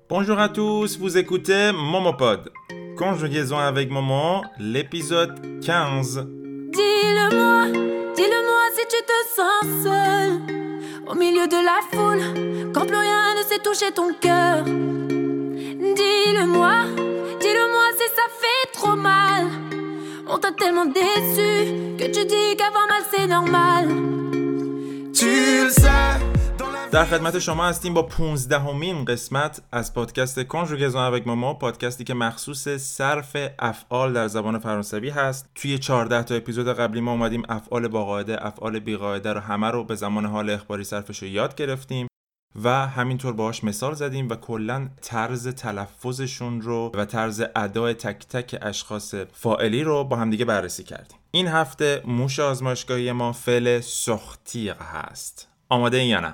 Bonjour à tous, vous écoutez Momopod. Conjugaison avec Momo, l'épisode 15. Dis-le-moi si tu te sens seul au milieu de la foule, quand plus rien ne sait toucher ton cœur. Dis-le-moi si ça fait trop mal. On t'a tellement déçu que tu dis qu'avoir mal c'est normal. Tu le sais. در خدمت شما هستیم با 15مین قسمت از پادکست کنژوگزون avec مومو، پادکستی که مخصوص صرف افعال در زبان فرانسوی هست. توی 14 تا اپیزود قبلی ما اومدیم افعال با قاعده، افعال بی قاعده رو همه رو به زمان حال اخباری صرفش رو یاد گرفتیم و همینطور باهاش مثال زدیم و کلاً طرز تلفظشون رو و طرز ادای تک تک اشخاص فاعلی رو با هم دیگه بررسی کردیم. این هفته موش آزمایشگاهی ما فعل sortir هست. آماده این یا نه؟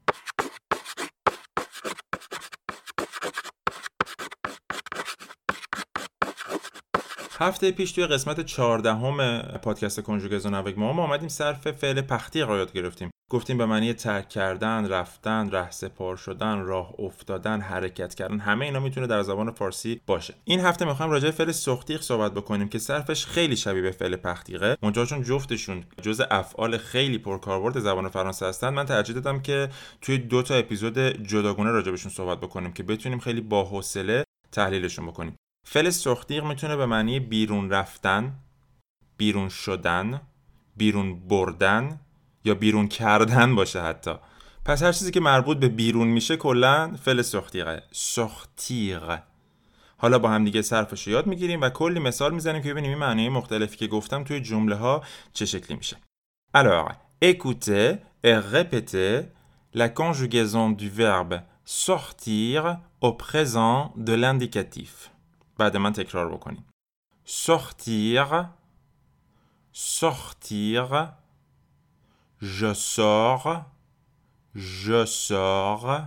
هفته پیش توی قسمت 14 پادکست کنژوگزون avec مومو ما اومدیم صرف فعل partir رو یاد گرفتیم. گفتیم به معنی ترک کردن، رفتن، رهسپار شدن، راه افتادن، حرکت کردن، همه اینا میتونه در زبان فارسی باشه. این هفته میخوایم راجع به فعل sortir صحبت بکنیم که صرفش خیلی شبیه به فعل partir، منتها چون جفتشون جزء افعال خیلی پرکاربرد زبان فرانسه هستن، من ترجیح دادم که توی 2 تا اپیزود جداگانه راجع بهشون صحبت بکنیم که بتونیم خیلی با حوصله تحلیلشون بکنیم. فعل sortir میتونه به معنی بیرون رفتن، بیرون شدن، بیرون بردن یا بیرون کردن باشه حتی. پس هر چیزی که مربوط به بیرون میشه کلا فعل sortir. sortir. حالا با هم دیگه صرفش رو یاد میگیریم و کلی مثال میزنیم که ببینیم این معنی مختلفی که گفتم توی جمله ها چه شکلی میشه. Alors, écoutez et répétez la conjugaison du verbe sortir au présent de l'indicatif. بعد من تکرار بکنیم. sortir, sortir, je sors, je sors,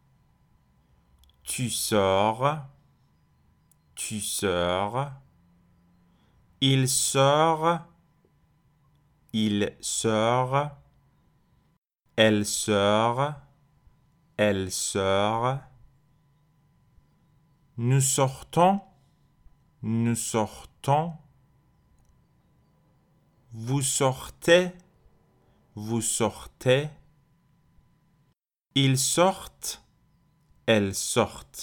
tu sors, tu sors, il sort, il sort, elle sort, elle sort, nous sortons, nous sortons, vous sortez, vous sortez, ils sortent, elles sortent.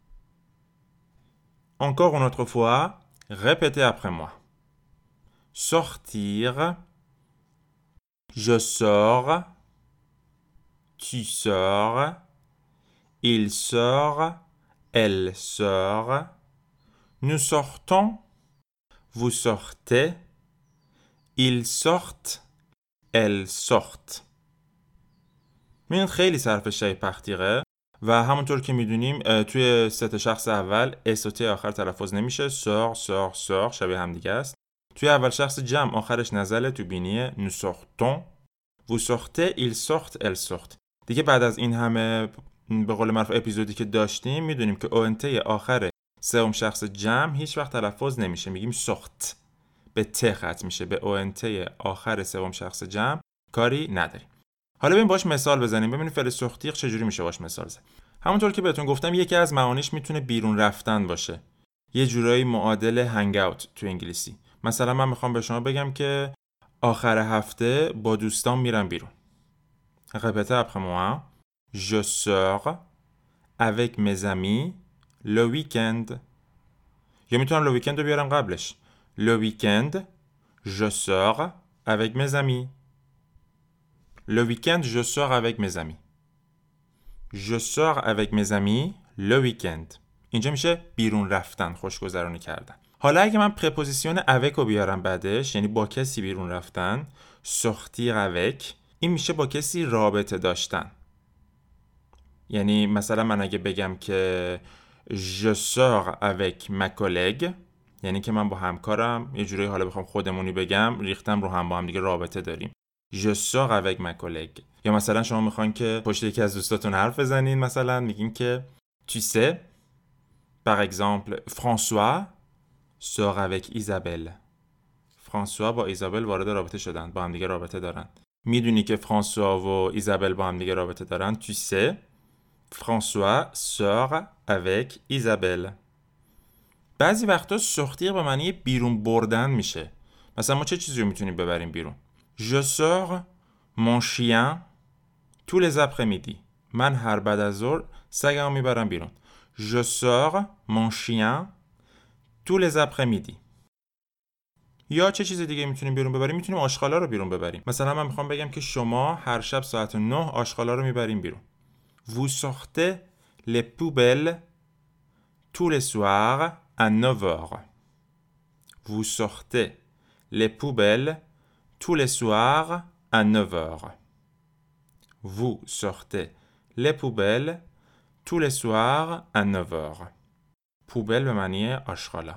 Encore une autre fois, répétez après moi. Sortir, je sors, tu sors, il sort, elle sort, nous sortons, vous sortez, ils sortent, elles sortent. این خیلی صرف شای پختیره و همونطور که میدونیم توی ست شخص اول اس و ت آخر تلفظ نمیشه. سور سور سور شبیه هم دیگه است. توی اول شخص جمع آخرش نزله تو بینیه. nous sortons, vous sortez, ils sortent, elles sortent. دیگه بعد از این همه به قول معروف اپیزودی که داشتیم میدونیم که اونت آخر سوم شخص جمع هیچ وقت تلفظ نمیشه، میگیم سخت، به ت ختم میشه. به اونت آخر سوم شخص جمع کاری نداریم. حالا بریم باش مثال بزنیم ببینیم فعل sortir چجوری میشه باش مثال زد. همونطور که بهتون گفتم یکی از معانیش میتونه بیرون رفتن باشه، یه جورایی معادل هنگ اوت تو انگلیسی. مثلا من میخوام به شما بگم که آخر هفته با دوستان میرم بیرون. répétez après moi. Je sors avec mes amis le week-end. یا میتونم le week-end رو بیارم قبلش. Le week-end, je sors avec mes amis. Le week-end, je sors avec mes amis. Je sors avec mes amis le week-end. اینجا میشه بیرون رفتن، خوشگذرانی کردن. حالا اگه من پرپوزیسیون avec رو بیارم بعدش، یعنی با کسی بیرون رفتن، sortir avec، این میشه با کسی رابطه داشتن. یعنی مثلا من اگه بگم که je sors avec ma collègue، یعنی که من با همکارم یه جوری حالا بخوام خودمونی بگم ریختم رو هم با هم دیگه رابطه داریم. je sors avec ma collègue. یا مثلا شما میخوان که پشت یکی از دوستاتون حرف بزنین، مثلا میگین که tu sais par exemple François sort avec Isabelle. فرانسوا با ایزابل وارد رابطه شدن، با هم دیگه رابطه دارن. میدونی که فرانسوا و ایزابل با هم دیگه رابطه دارن. tu sais François sort avec Isabelle. بعضی وقتا sortir به معنی بیرون بردن میشه. مثلا ما چه چیزی رو میتونیم ببریم بیرون؟ Je sors mon chien tous les après-midi. من هر بعد از ظهر سگمو میبرم بیرون. Je sors mon chien tous les après-midi. یا چه چیز دیگه میتونیم بیرون ببریم؟ میتونیم آشغالا رو بیرون ببریم. مثلا من میخوام بگم که شما هر شب ساعت 9 آشغالا رو میبریم بیرون. Vous sortez les poubelles tous les soirs à 9h. Vous sortez les poubelles tous les soirs à 9h. Vous sortez les poubelles tous les soirs à 9h. پوبل به معنی آشغالا.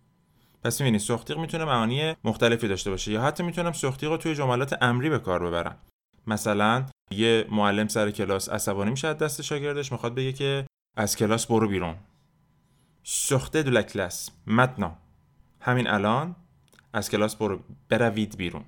پس می‌بینید سوختیق میتونه معانی مختلفی داشته باشه یا حتی میتونم سوختیق رو توی جملات امری به کار ببرم. مثلا یه معلم سر کلاس عصبانی میشه از دست شاگردش، میخواد بگه که از کلاس برو بیرون. sortez de la classe maintenant. همین الان از کلاس بروید بیرون.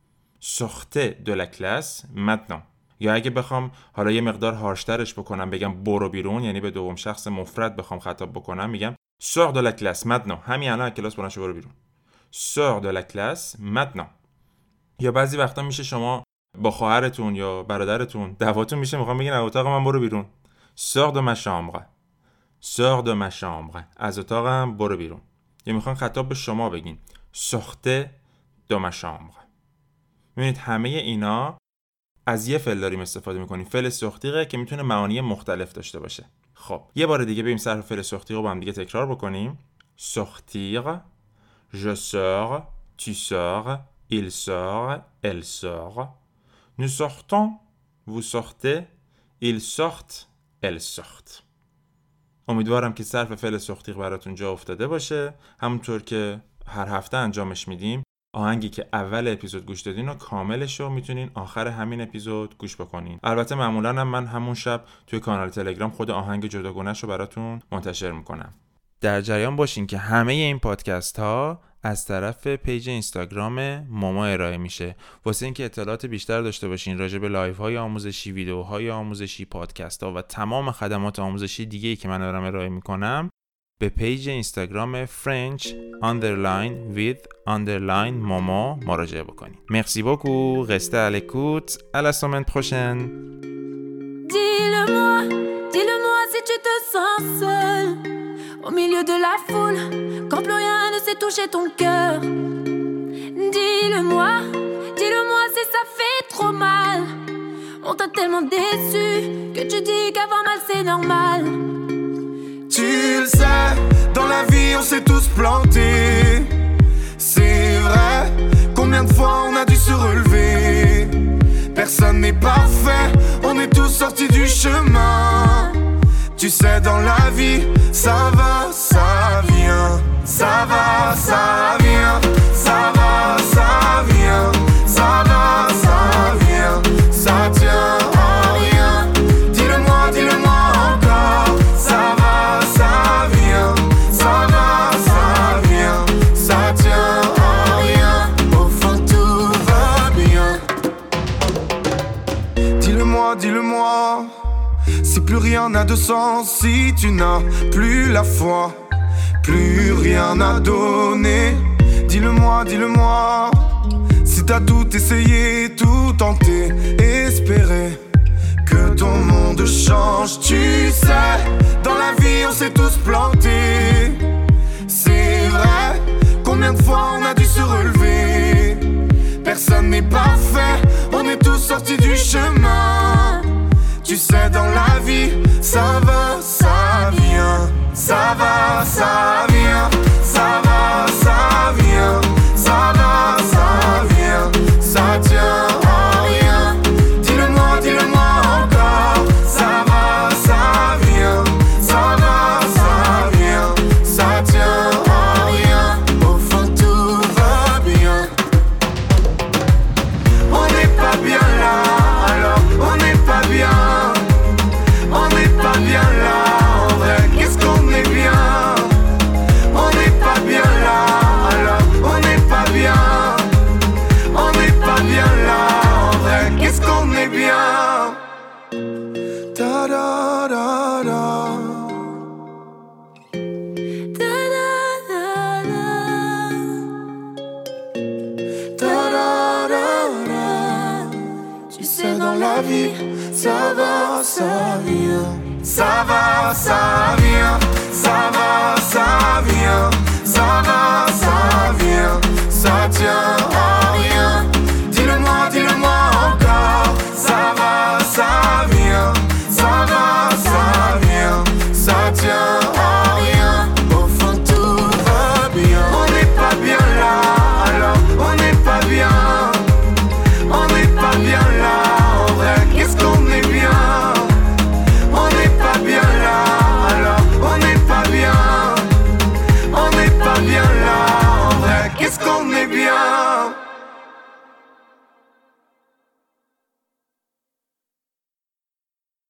sortez de la classe maintenant. یا اگه بخوام حالا یه مقدار هارشترش بکنم بگم برو بیرون، یعنی به دوم شخص مفرد بخوام خطاب بکنم میگم sors de la classe maintenant. همین الان از کلاس بلند شو برو بیرون. sors de la classe maintenant. یا بعضی وقتا میشه شما با خواهرتون یا برادرتون دعواتون میشه، میخوام بگین از اتاق من برو بیرون. sors de ma chambre. sors de ma chambre. از اتاقم برو بیرون. یا میخوان خطاب به شما بگین sortez de ma chambre. میبینید همه اینا از یه فعل داریم استفاده میکنیم، فعل سوختیقه که میتونه معانی مختلف داشته باشه. خب یه بار دیگه بریم صرف فعل سوختیق رو با هم دیگه تکرار بکنیم. sortir, je sors, tu sors, il sort, elle sort. Nous sortons, vous sortez, ils sortent, elles sortent. امیدوارم که صرف فعل سوختیق براتون جا افتاده باشه. همونطور که هر هفته انجامش میدیم، آهنگی که اول اپیزود گوش دادین و کاملش رو میتونین آخر همین اپیزود گوش بکنین. البته معمولا هم من همون شب توی کانال تلگرام خود آهنگ جداگونه‌ش رو براتون منتشر میکنم. در جریان باشین که همه این پادکست ها از طرف پیج اینستاگرام موما ارائه میشه. واسه اینکه اطلاعات بیشتر داشته باشین راجع به لایو های آموزشی، ویدیوهای آموزشی، پادکست ها و تمام خدمات آموزشی دیگه‌ای که من دارم ارائه میکنم به پیج اینستاگرام French_with_Momo مراجعه بکنید. Merci beaucoup, restez à l'écoute, à la semaine prochaine. Dis-le-moi si tu te sens seul au milieu de la foule, quand plus rien ne sait toucher ton cœur. Dis-le-moi si ça fait trop mal. On t'a tellement déçu que tu dis qu'avoir mal c'est normal. Tu le sais, dans la vie on s'est tous plantés. C'est vrai, combien de fois on a dû se relever. Personne n'est parfait, on est tous sortis du chemin. Tu sais, dans la vie, ça va, ça vient. Ça va, ça vient. Ça va, ça vient. Ça va, ça vient. Ça tient à rien. Dis-le-moi encore. Ça va, ça vient. Ça va, ça vient. Ça tient à rien. Au fond, tout va bien. Dis-le-moi. Si plus rien n'a de sens, si tu n'as plus la foi, plus rien à donner. Dis-le-moi. Si t'as tout essayé, tout tenté, espéré que ton monde change. Tu sais, dans la vie on s'est tous plantés. C'est vrai, combien de fois on a dû se relever. Personne n'est parfait, on est tous sortis du chemin. Tu sais, dans la vie, ça va, ça vient. Ça va, ça vient. Ça va, ça vient. Ça va, ça vient. Ça tient à rien. Dis-le-moi encore. Ça va, ça vient. Ça va, ça vient. Ça tient à rien. Au fond, tout va bien. On n'est pas bien là, alors on n'est pas bien. On n'est pas bien là. vie. Ça va, ça vient. Ça va, ça vient. Ça